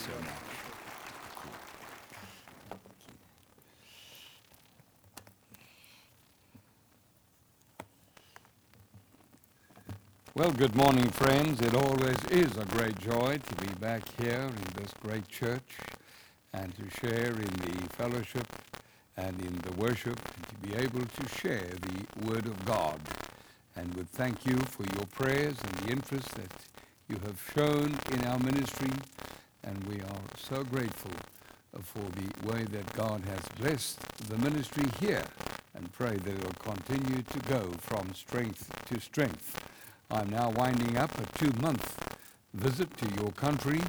so much. Well, good morning, friends. It always is a great joy to be back here in this great church and to share in the fellowship and in the worship and to be able to share the Word of God. And would thank you for your prayers and the interest that you have shown in our ministry. And we are so grateful for the way that God has blessed the ministry here, and pray that it will continue to go from strength to strength. I'm now winding up a 2-month visit to your country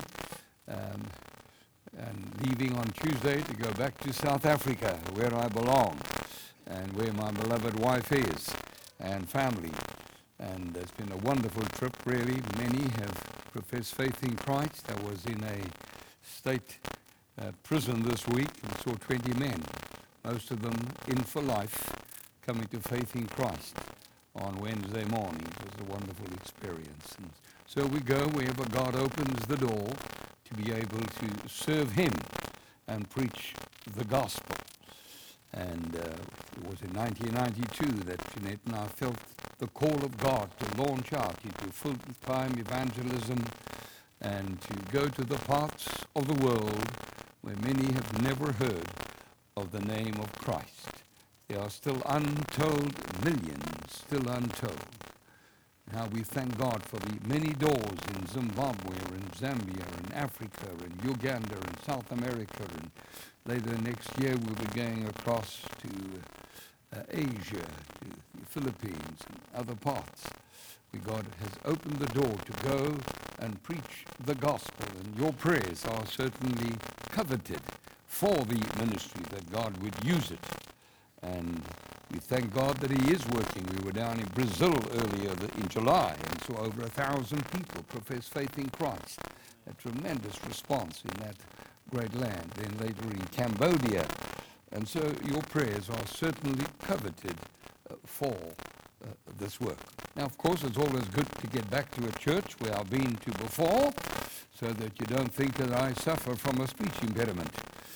and leaving on Tuesday to go back to South Africa, where I belong and where my beloved wife is and family. And it's been a wonderful trip, really. Many have professed faith in Christ. I was in a state prison this week and saw 20 men, most of them in for life, coming to faith in Christ on Wednesday morning. It was a wonderful experience. And so we go wherever God opens the door to be able to serve Him and preach the gospel. And it was in 1992 that Jeanette and I felt the call of God to launch out into full-time evangelism and to go to the parts of the world where many have never heard of the name of Christ. There are still untold millions, still untold. Now we thank God for the many doors in Zimbabwe or in Zambia, in Africa, in Uganda, in South America, and later next year we'll be going across to Asia, to the Philippines and other parts, where God has opened the door to go and preach the gospel. And your prayers are certainly coveted for the ministry, that God would use it. And we thank God that He is working. We were down in Brazil earlier in July and saw over 1,000 people profess faith in Christ. A tremendous response in that great land. Then later in Cambodia. And so your prayers are certainly coveted for this work. Now, of course, it's always good to get back to a church where I've been to before, so that you don't think that I suffer from a speech impediment.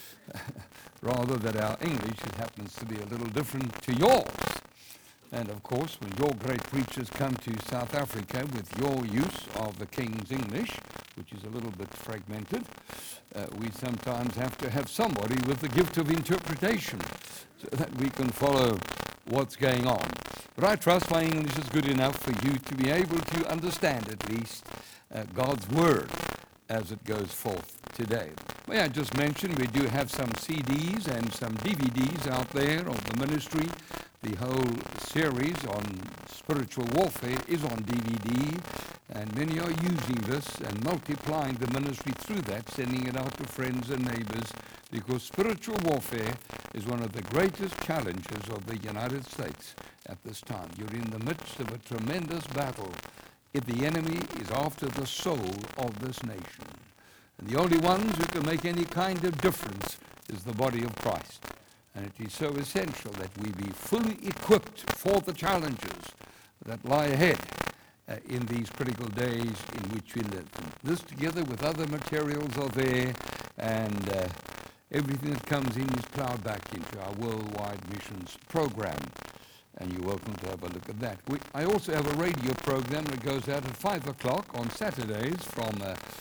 Rather that our English happens to be a little different to yours. And of course, when your great preachers come to South Africa with your use of the King's English, which is a little bit fragmented, we sometimes have to have somebody with the gift of interpretation so that we can follow what's going on. But I trust my English is good enough for you to be able to understand at least God's Word as it goes forth today. May I just mention, we do have some CDs and some DVDs out there of the ministry. The whole series on spiritual warfare is on DVD, and many are using this and multiplying the ministry through that, sending it out to friends and neighbors, because spiritual warfare is one of the greatest challenges of the United States at this time. You're in the midst of a tremendous battle if the enemy is after the soul of this nation. And the only ones who can make any kind of difference is the body of Christ. And it is so essential that we be fully equipped for the challenges that lie ahead in these critical days in which we live. And this, together with other materials, are there, and everything that comes in is plowed back into our worldwide missions program. And you're welcome to have a look at that. I also have a radio program that goes out at 5 o'clock on Saturdays from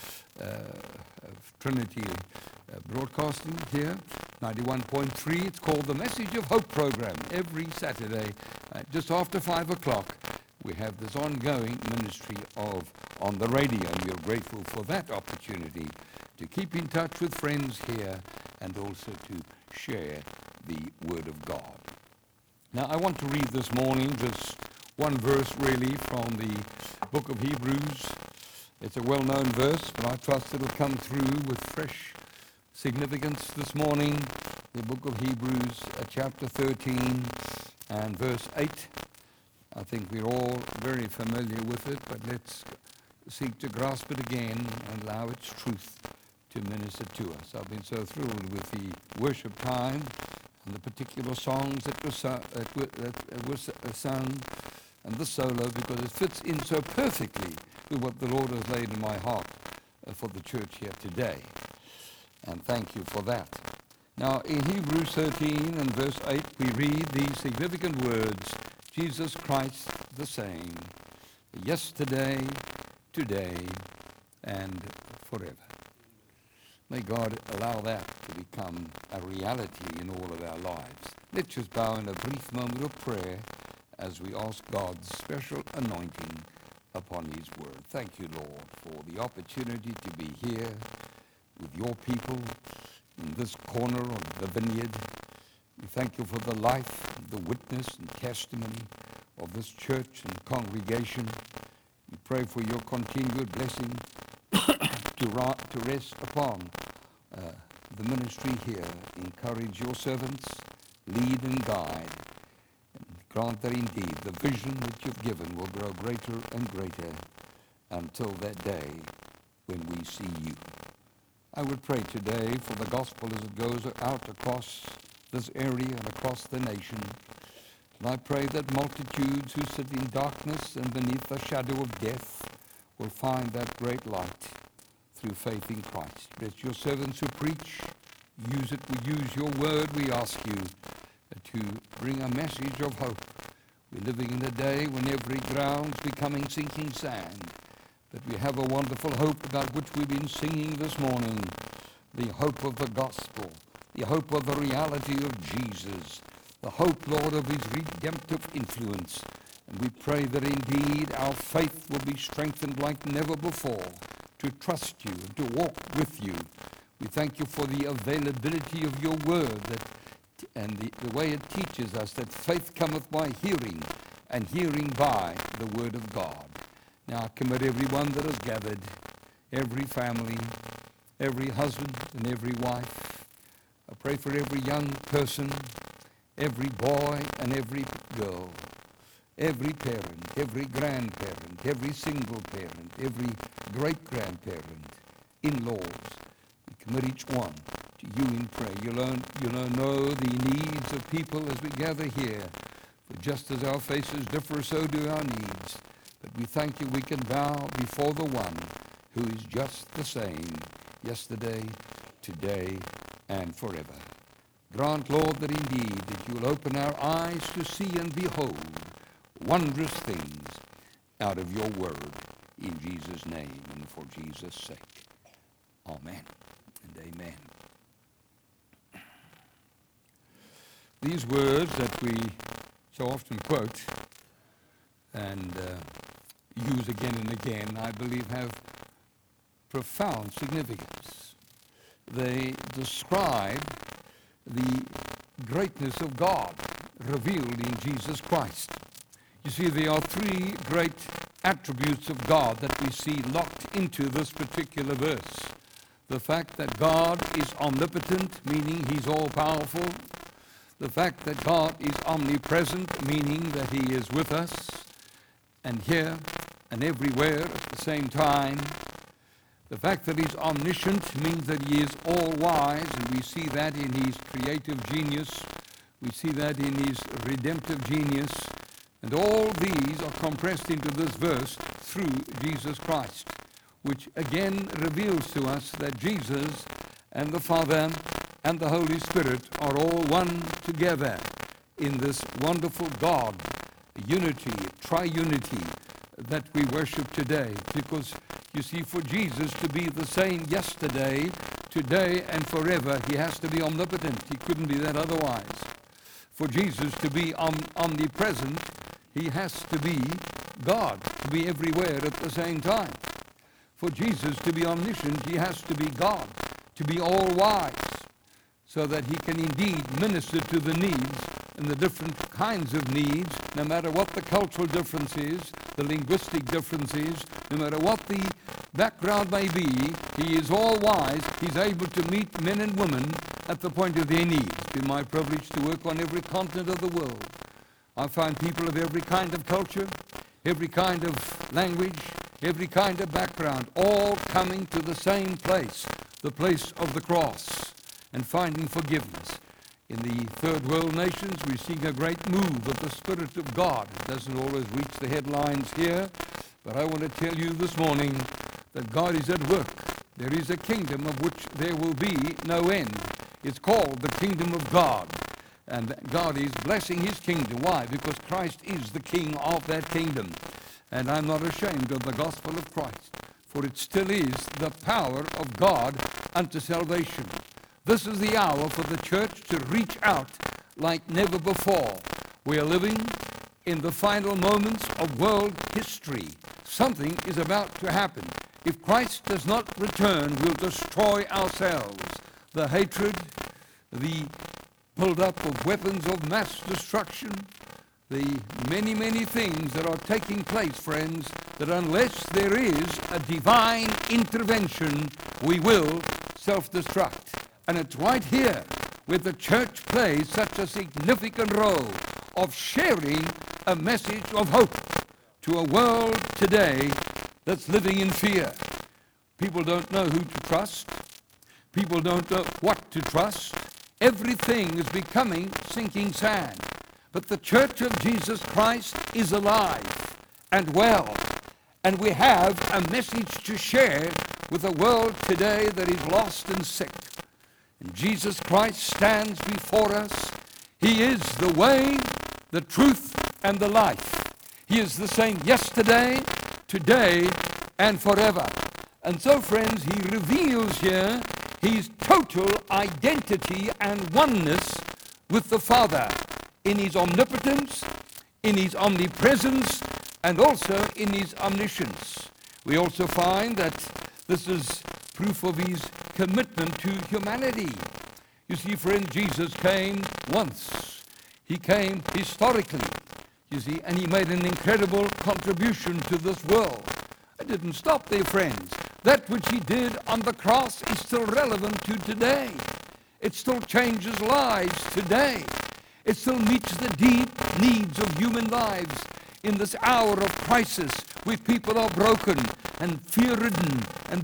Trinity Broadcasting here, 91.3. It's called the Message of Hope program. Every Saturday, just after 5 o'clock, we have this ongoing ministry on the radio, and we're grateful for that opportunity to keep in touch with friends here and also to share the Word of God. Now, I want to read this morning just one verse, really, from the book of Hebrews. It's a well-known verse, but I trust it'll come through with fresh significance this morning. The book of Hebrews, chapter 13 and verse 8. I think we're all very familiar with it, but let's seek to grasp it again and allow its truth to minister to us. I've been so thrilled with the worship time and the particular songs that were sung and the solo, because it fits in so perfectly with what the Lord has laid in my heart for the church here today. And thank you for that. Now, in Hebrews 13 and verse 8, we read these significant words, Jesus Christ the same, yesterday, today, and forever. May God allow that to become a reality in all of our lives. Let's just bow in a brief moment of prayer as we ask God's special anointing upon his word. Thank you, Lord, for the opportunity to be here with your people in this corner of the vineyard. We thank you for the life, the witness and testimony of this church and congregation. We pray for your continued blessing to rest upon the ministry here. Encourage your servants, lead and guide, and grant that indeed the vision that you've given will grow greater and greater until that day when we see you. I would pray today for the gospel as it goes out across this area and across the nation. And I pray that multitudes who sit in darkness and beneath the shadow of death will find that great light through faith in Christ. Let your servants who preach, use your word, we ask you, to bring a message of hope. We're living in a day when every ground's becoming sinking sand, but we have a wonderful hope about which we've been singing this morning, the hope of the gospel, the hope of the reality of Jesus, the hope, Lord, of his redemptive influence. And we pray that indeed our faith will be strengthened like never before, to trust you and to walk with you. We thank you for the availability of your word and the way it teaches us that faith cometh by hearing, and hearing by the word of God. Now I commit everyone that is gathered, every family, every husband and every wife. I pray for every young person, every boy and every girl, every parent, every grandparent, every single parent, every great-grandparent, in-laws. We commit each one to you in prayer. You know the needs of people as we gather here. For just as our faces differ, so do our needs. But we thank you we can bow before the one who is just the same, yesterday, today, and forever. Grant, Lord, that indeed that you will open our eyes to see and behold wondrous things out of your word, in Jesus' name and for Jesus' sake. Amen and amen. These words that we so often quote and use again and again, I believe have profound significance. They describe the greatness of God revealed in Jesus Christ. You see, there are three great attributes of God that we see locked into this particular verse. The fact that God is omnipotent, meaning he's all-powerful. The fact that God is omnipresent, meaning that he is with us and here and everywhere at the same time. The fact that he's omniscient means that he is all-wise, and we see that in his creative genius. We see that in his redemptive genius. And all these are compressed into this verse through Jesus Christ, which again reveals to us that Jesus and the Father and the Holy Spirit are all one together in this wonderful God, unity, triunity that we worship today. Because you see, for Jesus to be the same yesterday, today, and forever, he has to be omnipotent. He couldn't be that otherwise. For Jesus to be omnipresent, he has to be God, to be everywhere at the same time. For Jesus to be omniscient, he has to be God, to be all-wise, so that he can indeed minister to the needs and the different kinds of needs, no matter what the cultural difference is, the linguistic difference is, no matter what the background may be, he is all-wise. He's able to meet men and women at the point of their needs. It's been my privilege to work on every continent of the world. I find people of every kind of culture, every kind of language, every kind of background, all coming to the same place, the place of the cross, and finding forgiveness. In the third world nations, we're seeing a great move of the Spirit of God. It doesn't always reach the headlines here, but I want to tell you this morning that God is at work There is a kingdom of which there will be no end. It's called the kingdom of God. And God is blessing his kingdom. Why? Because Christ is the king of that kingdom. And I'm not ashamed of the gospel of Christ, for it still is the power of God unto salvation. This is the hour for the church to reach out like never before. We are living in the final moments of world history. Something is about to happen. If Christ does not return, we'll destroy ourselves. The hatred, the build-up of weapons of mass destruction, the many, many things that are taking place, friends, that unless there is a divine intervention, we will self-destruct. And it's right here where the church plays such a significant role of sharing a message of hope to a world today that's living in fear. People don't know who to trust. People don't know what to trust. Everything is becoming sinking sand. But the church of Jesus Christ is alive and well. And we have a message to share with a world today that is lost and sick. And Jesus Christ stands before us. He is the way, the truth, and the life. He is the same yesterday, today, and forever. And so, friends, he reveals here his total identity and oneness with the Father in his omnipotence, in his omnipresence, and also in his omniscience. We also find that this is proof of his commitment to humanity. You see, friend, Jesus came once. He came historically, you see, and he made an incredible contribution to this world. It didn't stop there, friends. That which he did on the cross is still relevant to today. It still changes lives today. It still meets the deep needs of human lives in this hour of crisis where people are broken and fear-ridden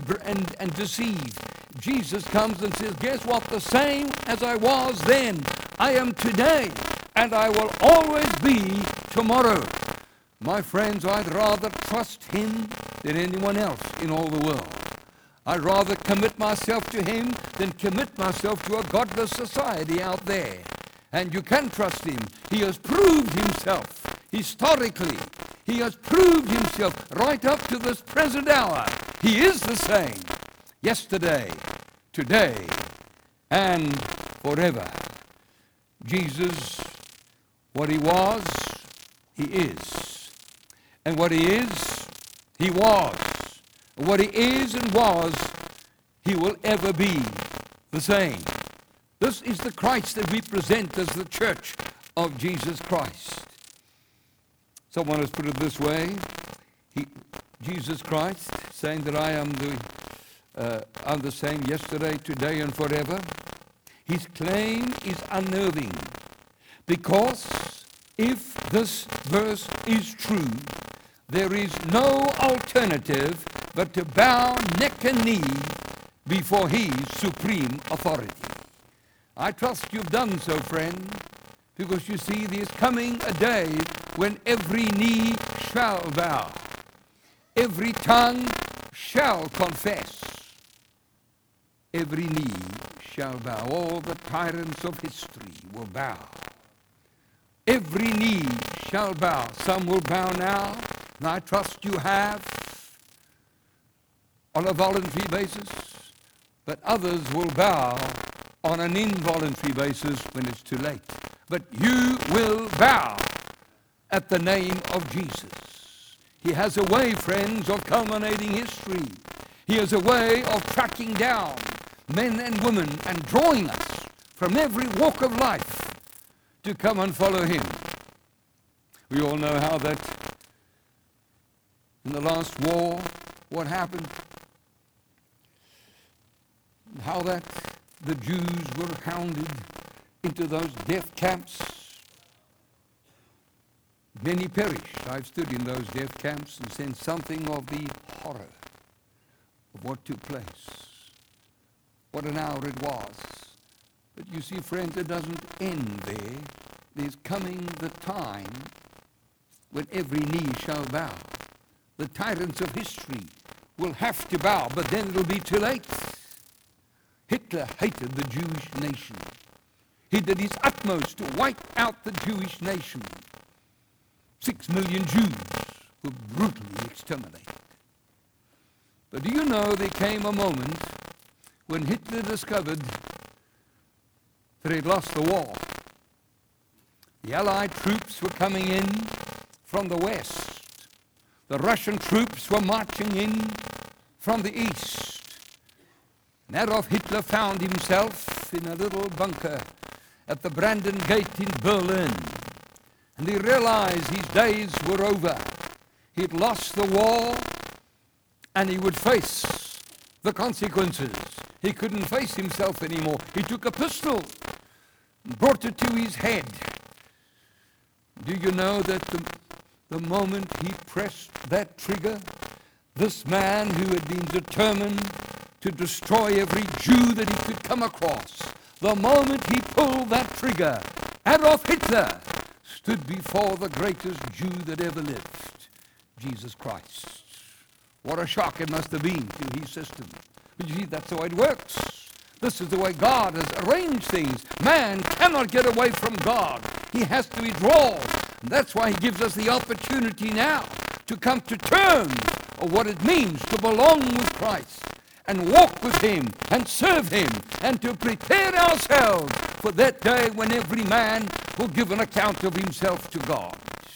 and deceived. Jesus comes and says, guess what? The same as I was then, I am today, and I will always be tomorrow. My friends, I'd rather trust him than anyone else in all the world. I'd rather commit myself to him than commit myself to a godless society out there. And you can trust him. He has proved himself historically. He has proved himself right up to this present hour. He is the same yesterday, today, and forever. Jesus, what he was, he is. And what he is, he was. What he is and was, he will ever be the same. This is the Christ that we present as the church of Jesus Christ. Someone has put it this way, Jesus Christ, saying that I'm the same yesterday, today, and forever. His claim is unnerving, because if this verse is true, there is no alternative but to bow neck and knee before his supreme authority. I trust you've done so, friend, because you see there's coming a day when every knee shall bow, every tongue shall confess, every knee shall bow. All the tyrants of history will bow. Every knee shall bow. Some will bow now, and I trust you have, on a voluntary basis, but others will bow on an involuntary basis when it's too late. But you will bow at the name of Jesus. He has a way, friends, of culminating history. He has a way of tracking down men and women and drawing us from every walk of life to come and follow him. We all know how that in the last war, what happened? How that the Jews were hounded into those death camps. Many perished. I've stood in those death camps and seen something of the horror of what took place. What an hour it was. But you see, friends, it doesn't end there. There's coming the time when every knee shall bow. The tyrants of history will have to bow, but then it'll be too late. Hitler hated the Jewish nation. He did his utmost to wipe out the Jewish nation. 6 million Jews were brutally exterminated. But do you know there came a moment when Hitler discovered that he'd lost the war. The Allied troops were coming in from the west. The Russian troops were marching in from the east. And Adolf Hitler found himself in a little bunker at the Brandenburg Gate in Berlin. And he realized his days were over. He'd lost the war, and he would face the consequences. He couldn't face himself anymore. He took a pistol and brought it to his head. Do you know that the moment he pressed that trigger, this man who had been determined to destroy every Jew that he could come across, the moment he pulled that trigger, Adolf Hitler stood before the greatest Jew that ever lived, Jesus Christ. What a shock it must have been to his system. But you see, that's the way it works. This is the way God has arranged things. Man cannot get away from God. He has to withdraw. And that's why he gives us the opportunity now to come to terms of what it means to belong with Christ and walk with him and serve him and to prepare ourselves for that day when every man will give an account of himself to God.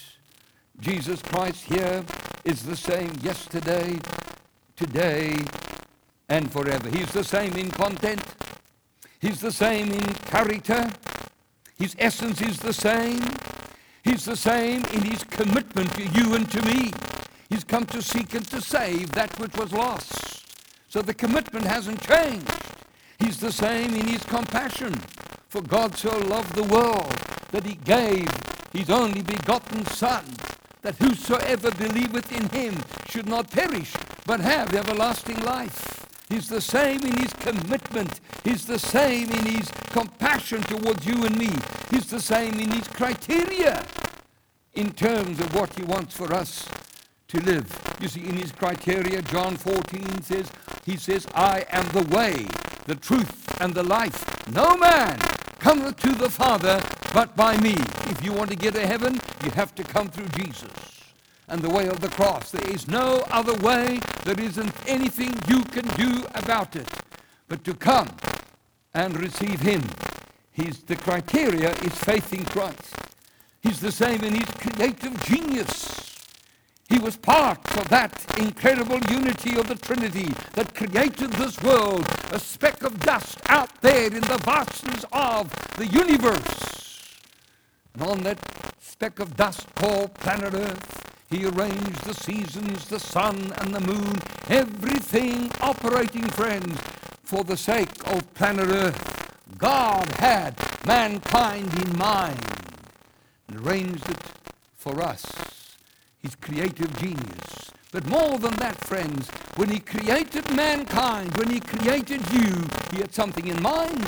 Jesus Christ here is the same yesterday, today, and forever. He's the same in content. He's the same in character. His essence is the same. He's the same in his commitment to you and to me. He's come to seek and to save that which was lost. So the commitment hasn't changed. He's the same in his compassion. For God so loved the world that he gave his only begotten Son, that whosoever believeth in him should not perish, but have everlasting life. He's the same in his commitment. He's the same in his compassion towards you and me. He's the same in his criteria in terms of what he wants for us to live. You see, in his criteria, John 14 says, he says, I am the way, the truth, and the life. No man cometh to the Father but by me. If you want to get to heaven, you have to come through Jesus and the way of the cross. There is no other way. There isn't anything you can do about it but to come and receive him. The criteria is faith in Christ. He's the same in his creative genius. He was part of that incredible unity of the Trinity that created this world, a speck of dust out there in the vastness of the universe. And on that speck of dust called planet Earth, he arranged the seasons, the sun and the moon, everything operating, friends, for the sake of planet Earth. God had mankind in mind and arranged it for us. His creative genius. But more than that, friends, when he created mankind, when he created you, he had something in mind.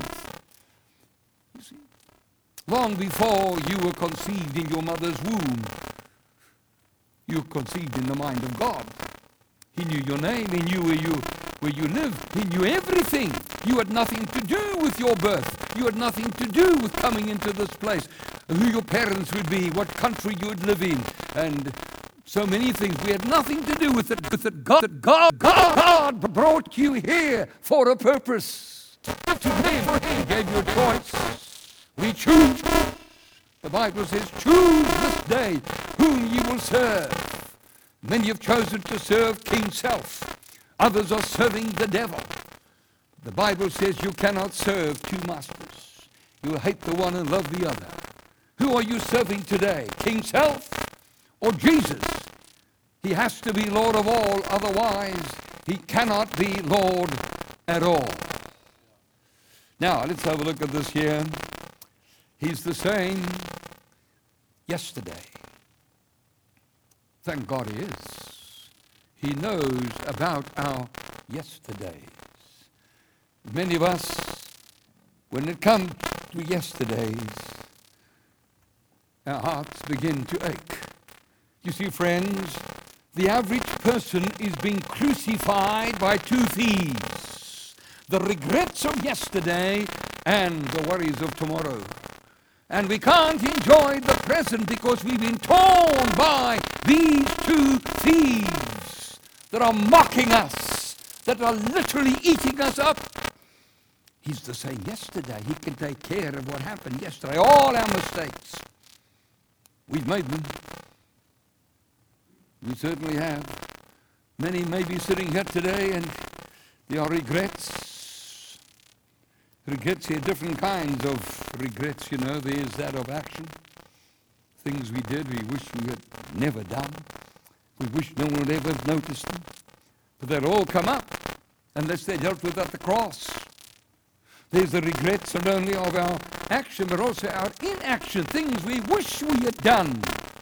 You see, long before you were conceived in your mother's womb, you were conceived in the mind of God. He knew your name, he knew where you lived, he knew everything. You had nothing to do with your birth. You had nothing to do with coming into this place, who your parents would be, what country you would live in, and so many things. We had nothing to do with it. God brought you here for a purpose. To live. He gave you a choice. We choose. The Bible says, choose this day whom ye will serve. Many have chosen to serve King Self. Others are serving the devil. The Bible says you cannot serve two masters. You will hate the one and love the other. Who are you serving today? King Self or Jesus? He has to be Lord of all, otherwise he cannot be Lord at all. Now, let's have a look at this here. He's the same yesterday. Thank God he is. He knows about our yesterdays. Many of us, when it comes to yesterdays, our hearts begin to ache. You see, friends, The average person is being crucified by two thieves: the regrets of yesterday and the worries of tomorrow. And we can't enjoy the present because we've been torn by these two thieves that are mocking us, that are literally eating us up. He's the same yesterday. He can take care of what happened yesterday. All our mistakes, we've made them. We certainly have. Many may be sitting here today and there are regrets. Regrets here, different kinds of regrets, you know. There's that of action. Things we did, we wish we had never done. We wish no one would ever have noticed them. But they'll all come up unless they're dealt with at the cross. There's the regrets not only of our action, but also our inaction, things we wish we had done.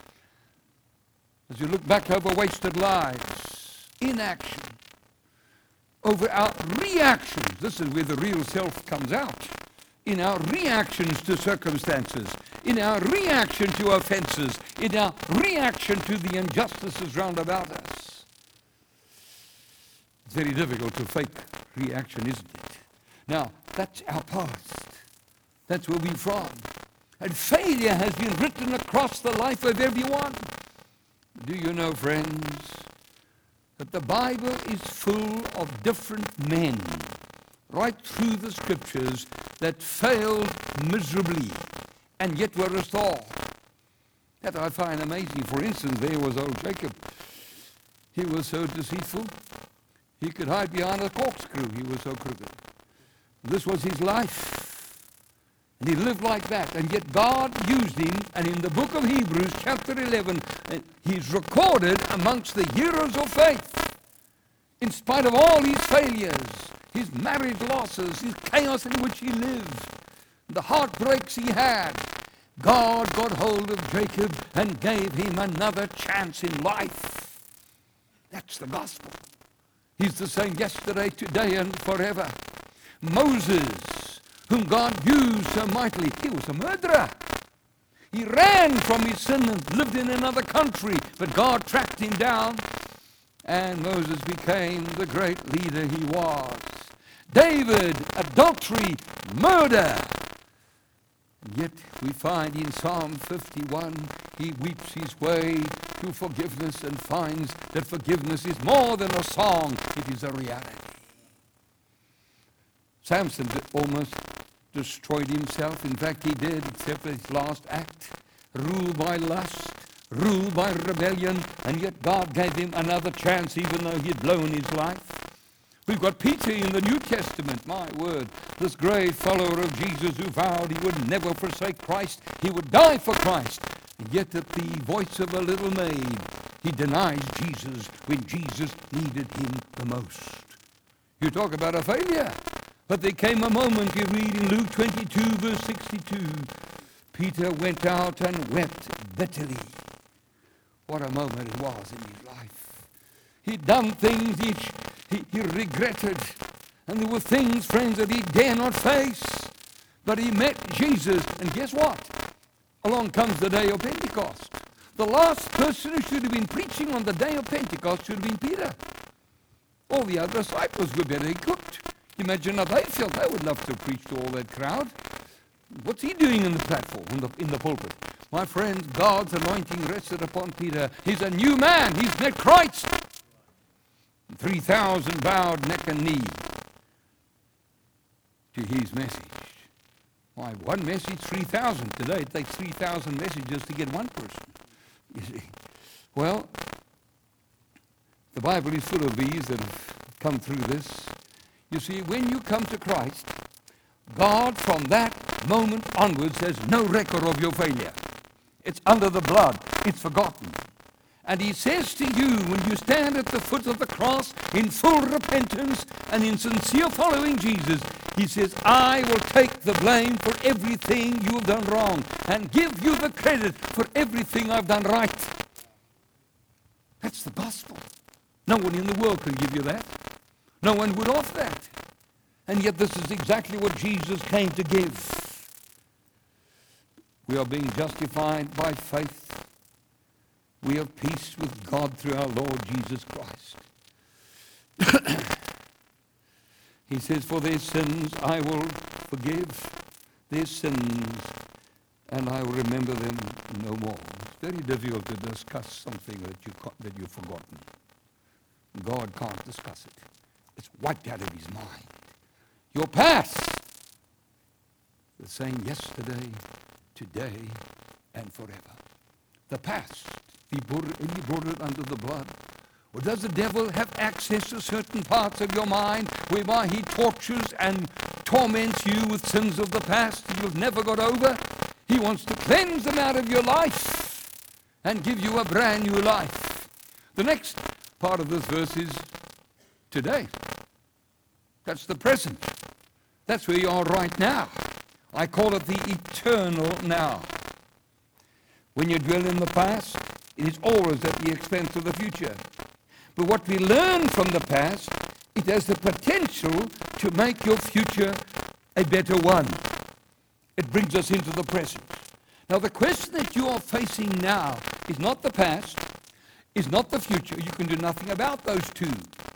As you look back over wasted lives, inaction, over our reactions. This is where the real self comes out. In our reactions to circumstances, in our reaction to offenses, in our reaction to the injustices round about us. It's very difficult to fake reaction, isn't it? Now, that's our past. That's where we're from. And failure has been written across the life of everyone. Do you know, friends, that the Bible is full of different men right through the scriptures that failed miserably and yet were restored? That I find amazing. For instance, there was old Jacob. He was so deceitful. He could hide behind a corkscrew. He was so crooked. This was his life. And he lived like that. And yet God used him. And in the book of Hebrews, chapter 11, he's recorded amongst the heroes of faith. In spite of all his failures, his marriage losses, his chaos in which he lived, the heartbreaks he had, God got hold of Jacob and gave him another chance in life. That's the gospel. He's the same yesterday, today, and forever. Moses, whom God used so mightily, he was a murderer. He ran from his sin and lived in another country, but God tracked him down, and Moses became the great leader he was. David, adultery, murder. And yet we find in Psalm 51, he weeps his way to forgiveness and finds that forgiveness is more than a song, it is a reality. Samson almost destroyed himself. In fact, he did, except his last act. Ruled by lust, ruled by rebellion, and yet God gave him another chance even though he had blown his life. We've got Peter in the New Testament, my word, this great follower of Jesus who vowed he would never forsake Christ, he would die for Christ. And yet at the voice of a little maid, he denies Jesus when Jesus needed him the most. You talk about a failure. But there came a moment, you read in Luke 22, verse 62, Peter went out and wept bitterly. What a moment it was in his life. He'd done things he regretted. And there were things, friends, that he dare not face. But he met Jesus. And guess what? Along comes the day of Pentecost. The last person who should have been preaching on the day of Pentecost should have been Peter. All the other disciples were better equipped. Imagine how they felt. They would love to preach to all that crowd. What's he doing in the platform, in the pulpit? My friend, God's anointing rested upon Peter. He's a new man. He's met Christ. 3,000 bowed neck and knee to his message. Why, one message, 3,000. Today it takes 3,000 messages to get one person. You see. Well, the Bible is full of these that have come through this. You see, when you come to Christ, God from that moment onwards has no record of your failure. It's under the blood. It's forgotten. And he says to you, when you stand at the foot of the cross in full repentance and in sincere following Jesus, he says, I will take the blame for everything you have done wrong and give you the credit for everything I've done right. That's the gospel. No one in the world can give you that. No one would offer that. And yet this is exactly what Jesus came to give. We are being justified by faith. We have peace with God through our Lord Jesus Christ. He says, for their sins I will forgive their sins, and I will remember them no more. It's very difficult to discuss something that you've forgotten. God can't discuss it. It's wiped out of his mind. Your past, the same yesterday, today, and forever. The past, he brought it under the blood. Or does the devil have access to certain parts of your mind whereby he tortures and torments you with sins of the past that you've never got over? He wants to cleanse them out of your life and give you a brand new life. The next part of this verse is today. That's the present. That's where you are right now. I call it the eternal now. When you dwell in the past, it is always at the expense of the future. But what we learn from the past, it has the potential to make your future a better one. It brings us into the present. Now, the question that you are facing now is not the past, is not the future. You can do nothing about those two.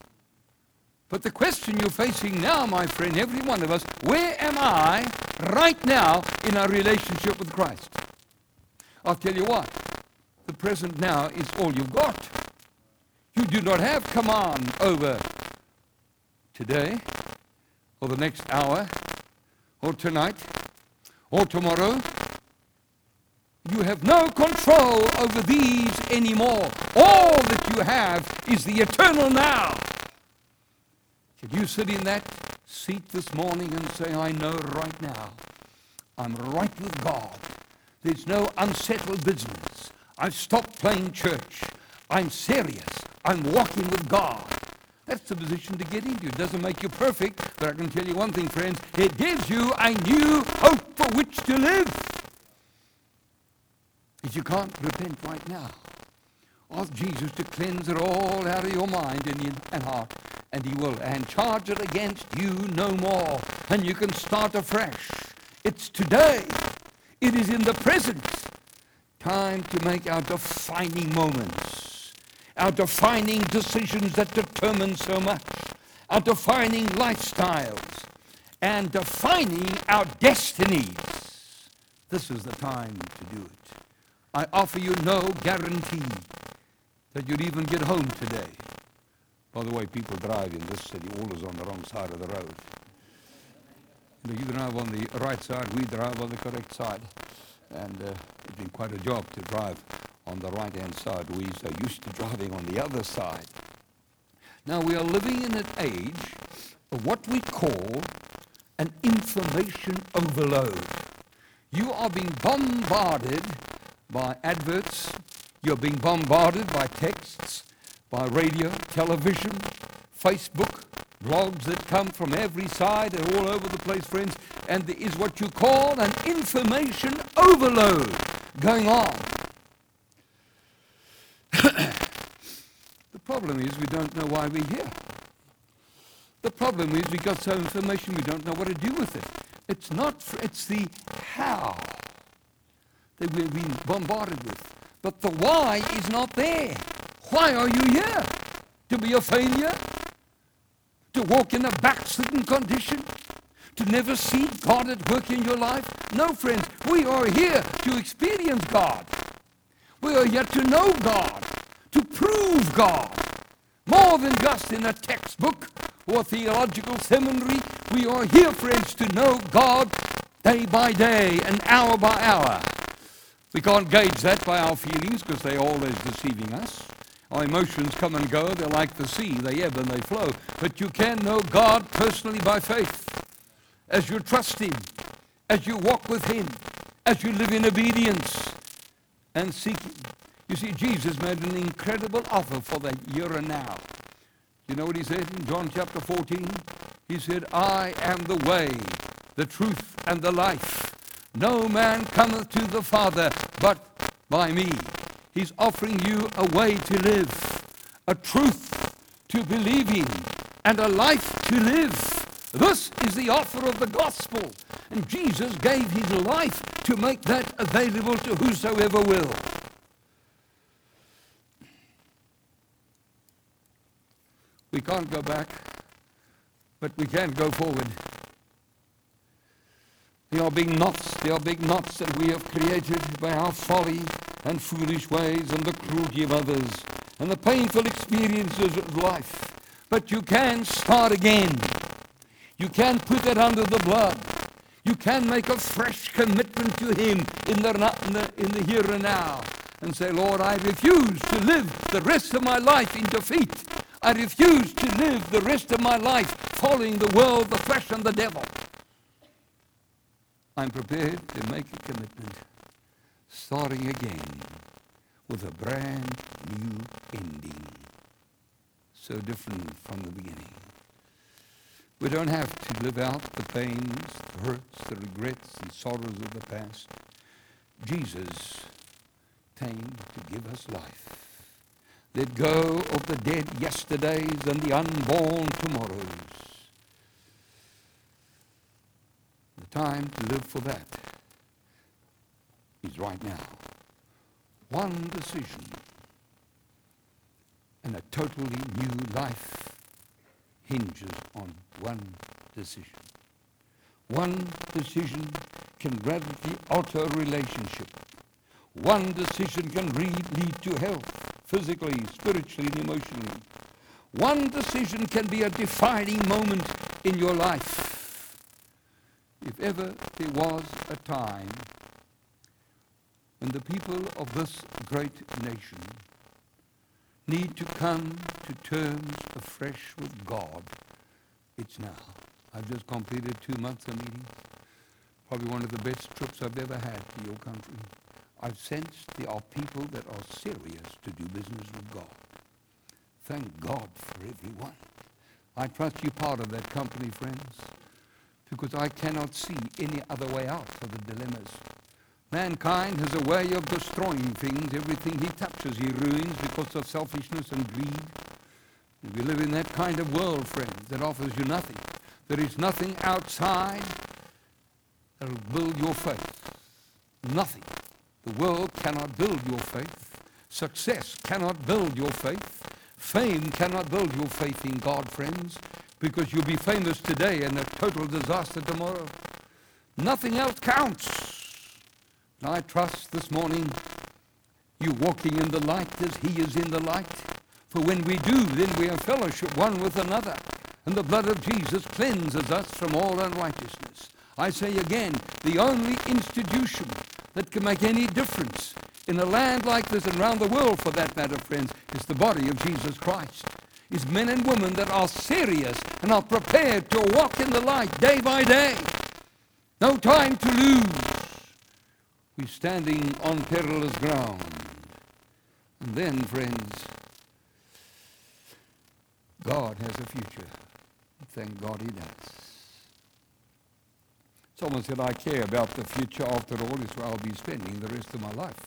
But the question you're facing now, my friend, every one of us, where am I right now in our relationship with Christ? I'll tell you what, the present now is all you've got. You do not have command over today, or the next hour, or tonight, or tomorrow. You have no control over these anymore. All that you have is the eternal now. Can you sit in that seat this morning and say, I know right now, I'm right with God. There's no unsettled business. I've stopped playing church. I'm serious. I'm walking with God. That's the position to get into. It doesn't make you perfect, but I can tell you one thing, friends. It gives you a new hope for which to live. If you can't repent right now, ask Jesus to cleanse it all out of your mind and heart, and he will, and charge it against you no more. And you can start afresh. It's today. It is in the present. Time to make our defining moments, our defining decisions that determine so much, our defining lifestyles, and defining our destinies. This is the time to do it. I offer you no guarantee that you'll even get home today. By the way, people drive in this city always on the wrong side of the road. You drive on the right side, we drive on the correct side. And it's been quite a job to drive on the right-hand side. We're so used to driving on the other side. Now, we are living in an age of what we call an information overload. You are being bombarded by adverts. You're being bombarded by texts, by radio, television, Facebook, blogs that come from every side and all over the place, friends. And there is what you call an information overload going on. The problem is we don't know why we're here. The problem is we got so information we don't know what to do with it. It's the how that we're being bombarded with. But the why is not there. Why are you here? To be a failure? To walk in a backslidden condition? To never see God at work in your life? No, friends, we are here to experience God. We are here to know God, to prove God. More than just in a textbook or theological seminary. We are here, friends, to know God day by day and hour by hour. We can't gauge that by our feelings because they're always deceiving us. Our emotions come and go. They're like the sea. They ebb and they flow. But you can know God personally by faith. As you trust him, as you walk with him, as you live in obedience and seek him. You see, Jesus made an incredible offer for the here and now. You know what he said in John chapter 14? He said, I am the way, the truth, and the life. No man cometh to the Father but by me. He's offering you a way to live, a truth to believe in, and a life to live. This is the offer of the gospel. And Jesus gave his life to make that available to whosoever will. We can't go back, but we can go forward. There are big knots that we have created by our folly and foolish ways and the cruelty of others and the painful experiences of life. But you can start again. You can put that under the blood. You can make a fresh commitment to Him in the here and now and say, Lord, I refuse to live the rest of my life in defeat. I refuse to live the rest of my life following the world, the flesh, and the devil. I'm prepared to make a commitment, starting again with a brand new ending. So different from the beginning. We don't have to live out the pains, the hurts, the regrets, and sorrows of the past. Jesus came to give us life. Let go of the dead yesterdays and the unborn tomorrows. The time to live for that is right now. One decision and a totally new life hinges on one decision. One decision can radically alter a relationship. One decision can lead to health, physically, spiritually, and emotionally. One decision can be a defining moment in your life. If ever there was a time when the people of this great nation need to come to terms afresh with God, it's now. I've just completed 2 months of meeting. Probably one of the best trips I've ever had to your country. I've sensed there are people that are serious to do business with God. Thank God for everyone. I trust you're part of that company, friends, because I cannot see any other way out of the dilemmas. Mankind has a way of destroying things. Everything he touches, he ruins because of selfishness and greed. And we live in that kind of world, friends, that offers you nothing. There is nothing outside that will build your faith. Nothing. The world cannot build your faith. Success cannot build your faith. Fame cannot build your faith in God, friends, because you'll be famous today and a total disaster tomorrow. Nothing else counts. And I trust this morning you walking in the light as He is in the light. For when we do, then we have fellowship one with another. And the blood of Jesus cleanses us from all unrighteousness. I say again, the only institution that can make any difference in a land like this and around the world for that matter, friends, is the body of Jesus Christ. Is men and women that are serious and are prepared to walk in the light day by day. No time to lose. We're standing on perilous ground. And then, friends, God has a future. Thank God He does. Someone said, I care about the future. After all, it's where I'll be spending the rest of my life.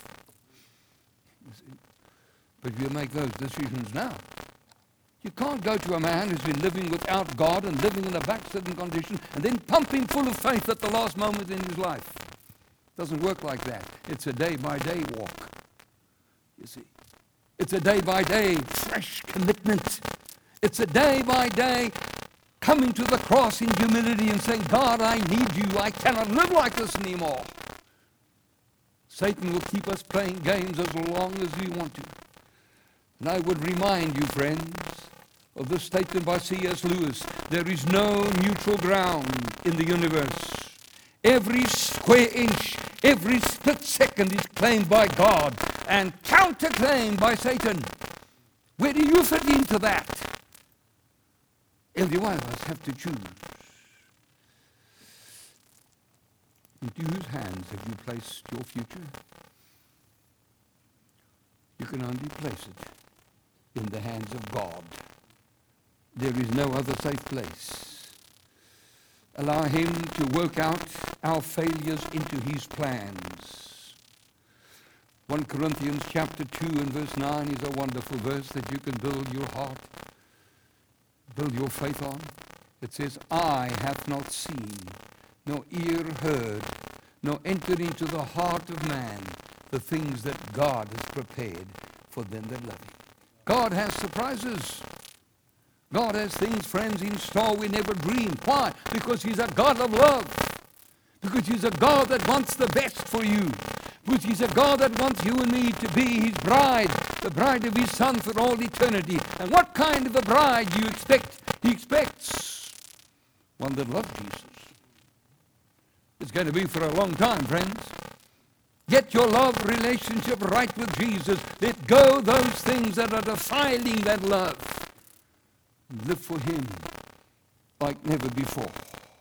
But you make those decisions now. You can't go to a man who's been living without God and living in a backslidden condition and then pump him full of faith at the last moment in his life. It doesn't work like that. It's a day-by-day walk. You see. It's a day-by-day fresh commitment. It's a day-by-day coming to the cross in humility and saying, God, I need you. I cannot live like this anymore. Satan will keep us playing games as long as we want to. And I would remind you, friends, of this statement by C.S. Lewis. There is no neutral ground in the universe. Every square inch, every split second is claimed by God and counterclaimed by Satan. Where do you fit into that? Every one of us have to choose. Into whose hands have you placed your future? You can only place it in the hands of God. There is no other safe place. Allow Him to work out our failures into His plans. 1 Corinthians chapter 2 and verse 9 is a wonderful verse that you can build your heart, build your faith on. It says, eye hath not seen, nor ear heard, nor entered into the heart of man the things that God has prepared for them that love Him. God has surprises. God has things, friends, in store we never dreamed. Why? Because He's a God of love. Because He's a God that wants the best for you. Because He's a God that wants you and me to be His bride, the bride of His Son for all eternity. And what kind of a bride do you expect? He expects one that loves Jesus. It's going to be for a long time, friends. Get your love relationship right with Jesus. Let go those things that are defiling that love. Live for Him like never before.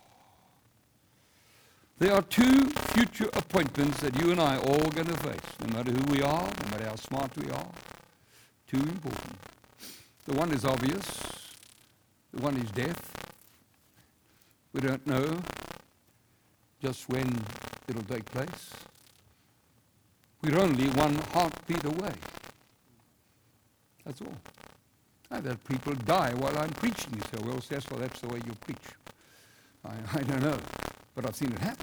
There are two future appointments that you and I are all going to face, no matter who we are, no matter how smart we are. Two important. The one is obvious. The one is death. We don't know just when it'll take place. We're only one heartbeat away. That's all. I've had people die while I'm preaching. You say, well, Cecil, that's the way you preach. I don't know, but I've seen it happen.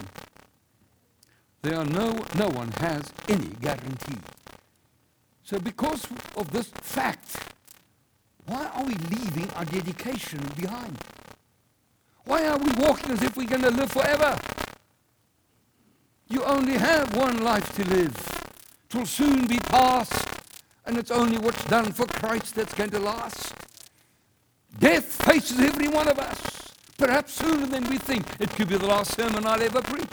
No one has any guarantee. So because of this fact, why are we leaving our dedication behind? Why are we walking as if we're going to live forever? You only have one life to live. It will soon be past, and it's only what's done for Christ that's going to last. Death faces every one of us, perhaps sooner than we think. It could be the last sermon I'll ever preach.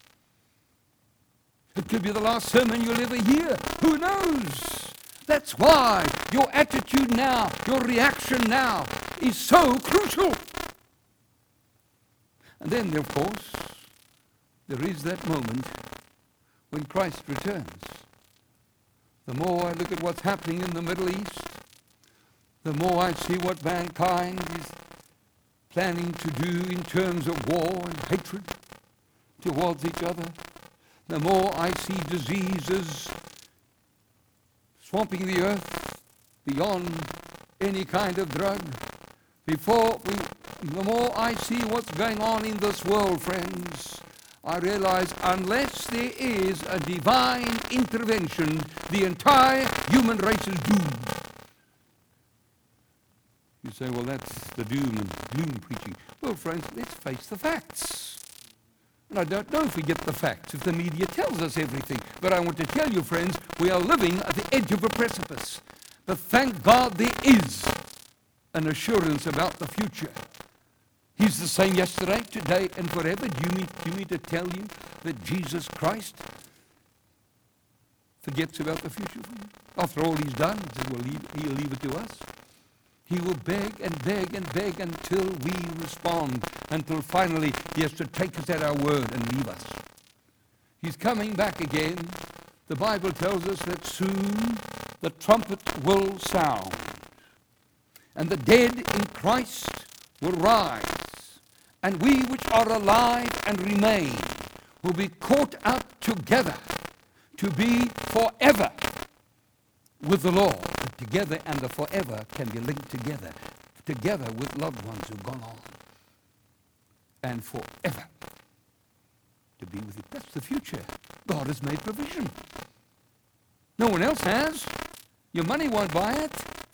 It could be the last sermon you'll ever hear. Who knows? That's why your attitude now, your reaction now, is so crucial. And then, of course, there is that moment when Christ returns. The more I look at what's happening in the Middle East, the more I see what mankind is planning to do in terms of war and hatred towards each other, the more I see diseases swamping the earth beyond any kind of drug. The more I see what's going on in this world, friends, I realize unless there is a divine intervention, the entire human race is doomed. You say, well, that's the doom and gloom preaching. Well, friends, let's face the facts. And I don't know if we get the facts, if the media tells us everything. But I want to tell you, friends, we are living at the edge of a precipice. But thank God there is an assurance about the future. He's the same yesterday, today, and forever. Do you mean to tell you that Jesus Christ forgets about the future for you? After all He's done, He says, well, He'll leave it to us. He will beg and beg and beg until we respond, until finally He has to take us at our word and leave us. He's coming back again. The Bible tells us that soon the trumpet will sound, and the dead in Christ will rise, and we which are alive and remain will be caught up together to be forever with the Lord. The together and the forever can be linked together with loved ones who've gone on, and forever to be with Him. That's the future. God has made provision. No one else has. Your money won't buy it.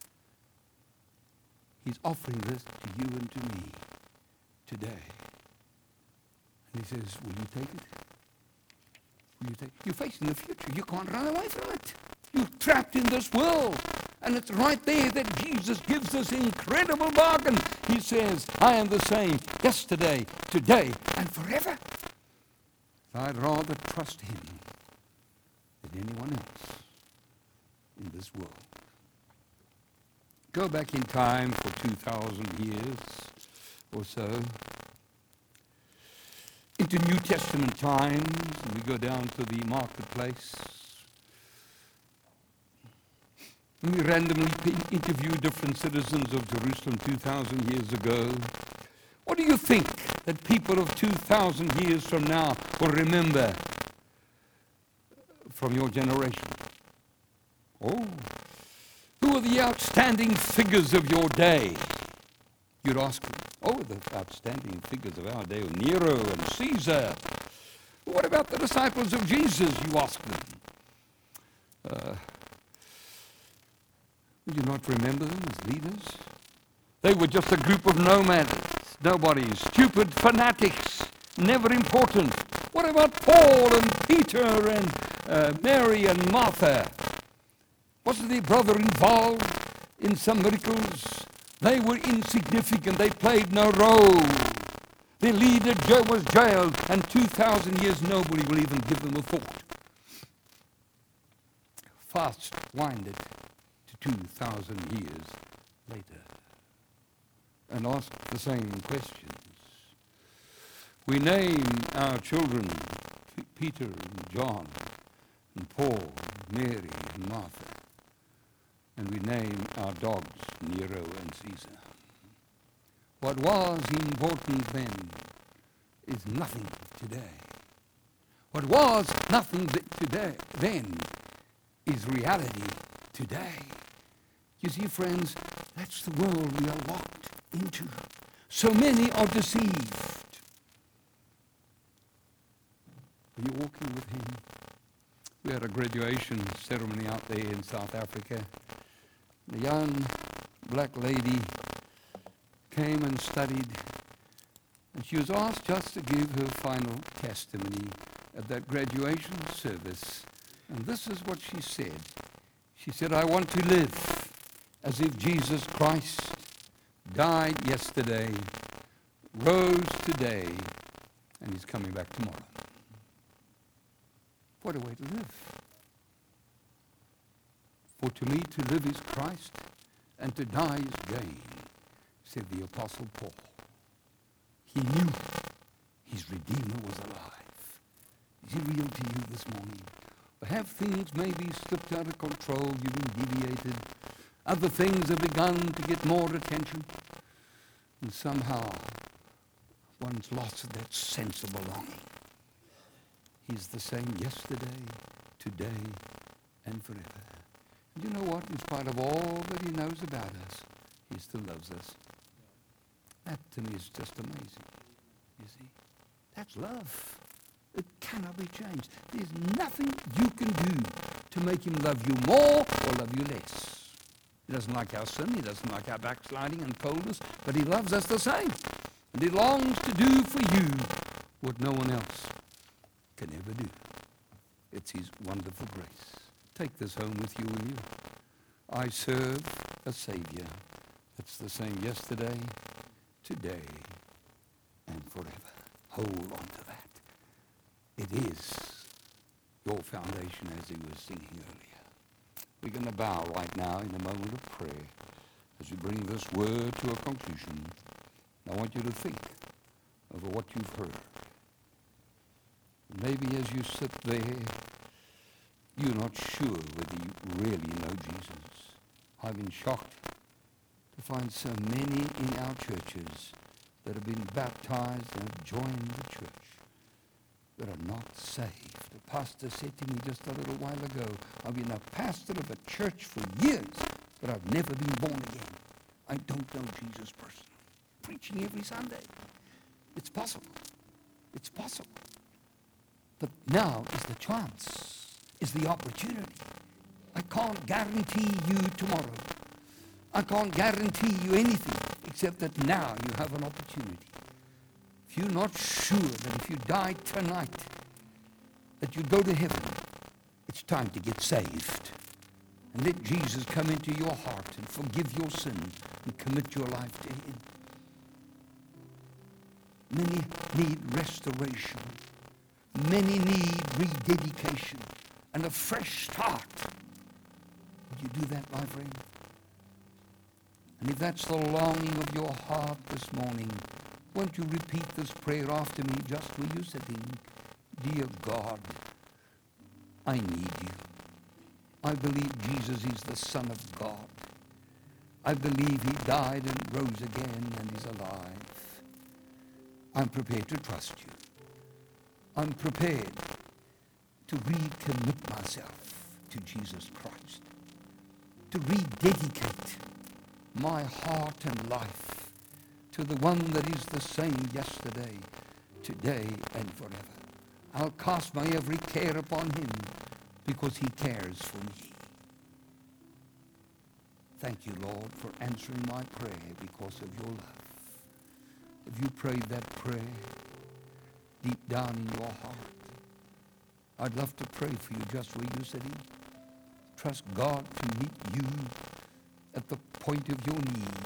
He's offering this to you and to me today. And He says, will you take it? Will you take it? You're facing the future. You can't run away from it. You're trapped in this world. And it's right there that Jesus gives this incredible bargain. He says, I am the same yesterday, today, and forever. I'd rather trust Him than anyone else in this world. Go back in time for 2,000 years or so into New Testament times, and we go down to the marketplace. And we randomly interview different citizens of Jerusalem 2,000 years ago. What do you think that people of 2,000 years from now will remember from your generation? Oh, who are the outstanding figures of your day? You'd ask them. Oh, the outstanding figures of our day, Nero and Caesar. What about the disciples of Jesus, you ask them? Would you not remember them as leaders? They were just a group of nomads, nobodies, stupid fanatics, never important. What about Paul and Peter and Mary and Martha? Wasn't their brother involved in some miracles? They were insignificant. They played no role. Their leader was jailed, and 2,000 years nobody will even give them a thought. Fast winded to 2,000 years later and ask the same questions. We name our children Peter and John and Paul, Mary and Martha. And we name our dogs Nero and Caesar. What was important then is nothing today. What was nothing today then is reality today. You see, friends, that's the world we are locked into. So many are deceived. Are you walking with him? We had a graduation ceremony out there in South Africa. The young black lady came and studied, and she was asked just to give her final testimony at that graduation service. And this is what she said. She said, I want to live as if Jesus Christ died yesterday, rose today, and he's coming back tomorrow. What a way to live. For to me to live is Christ, and to die is gain, said the Apostle Paul. He knew his Redeemer was alive. Is he real to you this morning? Or have things maybe slipped out of control, you've been deviated, other things have begun to get more attention, and somehow one's lost that sense of belonging. He's the same yesterday, today, and forever. And you know what? In spite of all that he knows about us, he still loves us. That to me is just amazing. You see? That's love. It cannot be changed. There's nothing you can do to make him love you more or love you less. He doesn't like our sin. He doesn't like our backsliding and coldness. But he loves us the same. And he longs to do for you what no one else can ever do. It's his wonderful grace. Take this home with you, will you? I serve a Savior that's the same yesterday, today, and forever. Hold on to that. It is your foundation, as he was singing earlier. We're going to bow right now in a moment of prayer as we bring this word to a conclusion. I want you to think over what you've heard. Maybe as you sit there, you're not sure whether you really know Jesus. I've been shocked to find so many in our churches that have been baptized and have joined the church that are not saved. The pastor said to me just a little while ago, I've been a pastor of a church for years, but I've never been born again. I don't know Jesus personally. Preaching every Sunday. It's possible. It's possible. But now is the chance, is the opportunity. I can't guarantee you tomorrow. I can't guarantee you anything except that now you have an opportunity. If you're not sure that if you die tonight that you go to heaven, it's time to get saved. And let Jesus come into your heart and forgive your sin and commit your life to him. Many need restoration. Many need rededication and a fresh start. Would you do that, my friend? And if that's the longing of your heart this morning, won't you repeat this prayer after me just where you're sitting? Dear God, I need you. I believe Jesus is the Son of God. I believe he died and rose again and is alive. I'm prepared to trust you. I'm prepared to recommit myself to Jesus Christ, to rededicate my heart and life to the one that is the same yesterday, today, and forever. I'll cast my every care upon him because he cares for me. Thank you, Lord, for answering my prayer because of your love. If you prayed that prayer deep down in your heart, I'd love to pray for you just where you're sitting. Trust God to meet you at the point of your need.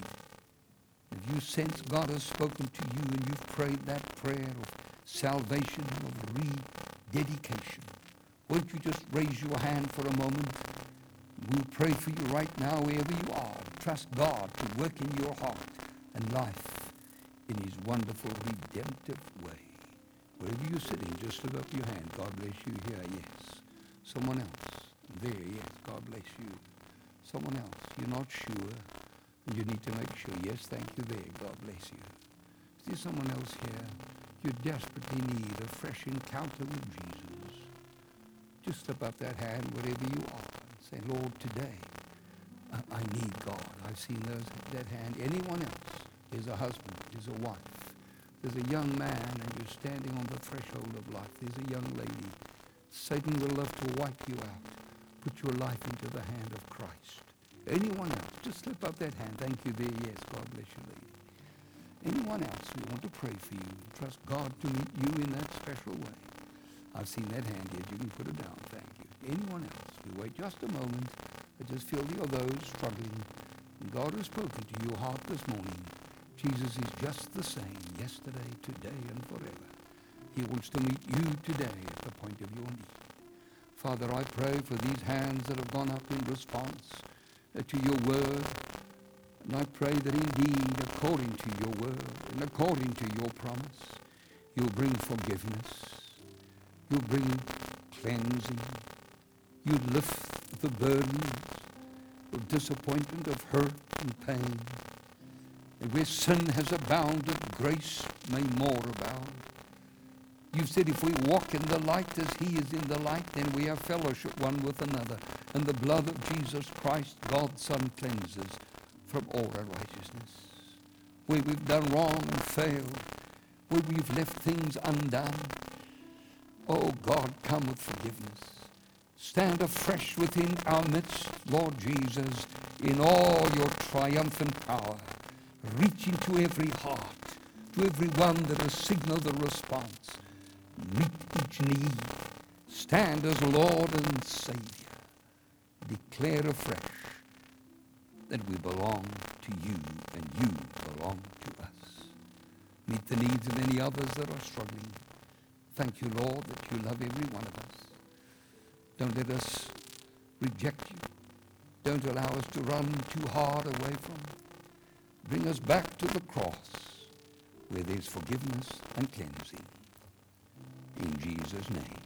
If you sense God has spoken to you and you've prayed that prayer of salvation, of rededication, won't you just raise your hand for a moment? We'll pray for you right now wherever you are. Trust God to work in your heart and life in his wonderful redemptive way. Wherever you're sitting, just lift up your hand. God bless you here. Yes. Someone else. There. Yes. God bless you. Someone else. You're not sure. And you need to make sure. Yes. Thank you there. God bless you. Is there someone else here? You desperately need a fresh encounter with Jesus. Just slip up that hand wherever you are. Say, Lord, today I need God. I've seen that hand. Anyone else? There's a husband. There's a wife. There's a young man and you're standing on the threshold of life. There's a young lady. Satan will love to wipe you out. Put your life into the hand of Christ. Anyone else? Just slip up that hand. Thank you there. Yes, God bless you, lady. Anyone else? We want to pray for you. Trust God to meet you in that special way. I've seen that hand yet. You can put it down. Thank you. Anyone else? We wait just a moment. I just feel there are those struggling. And God has spoken to your heart this morning. Jesus is just the same yesterday, today, and forever. He wants to meet you today at the point of your need. Father, I pray for these hands that have gone up in response to your word. And I pray that indeed, according to your word and according to your promise, you'll bring forgiveness. You'll bring cleansing. You'll lift the burdens of disappointment, of hurt and pain. And where sin has abounded, grace may more abound. You've said if we walk in the light as he is in the light, then we have fellowship one with another. And the blood of Jesus Christ, God's Son, cleanses from all unrighteousness. Where we've done wrong and failed, where we've left things undone, oh God, come with forgiveness. Stand afresh within our midst, Lord Jesus, in all your triumphant power. Reach into every heart, to every one that has signaled a response. Meet each need. Stand as Lord and Savior. Declare afresh that we belong to you and you belong to us. Meet the needs of any others that are struggling. Thank you, Lord, that you love every one of us. Don't let us reject you. Don't allow us to run too hard away from you. Bring us back to the cross where there's forgiveness and cleansing. In Jesus' name.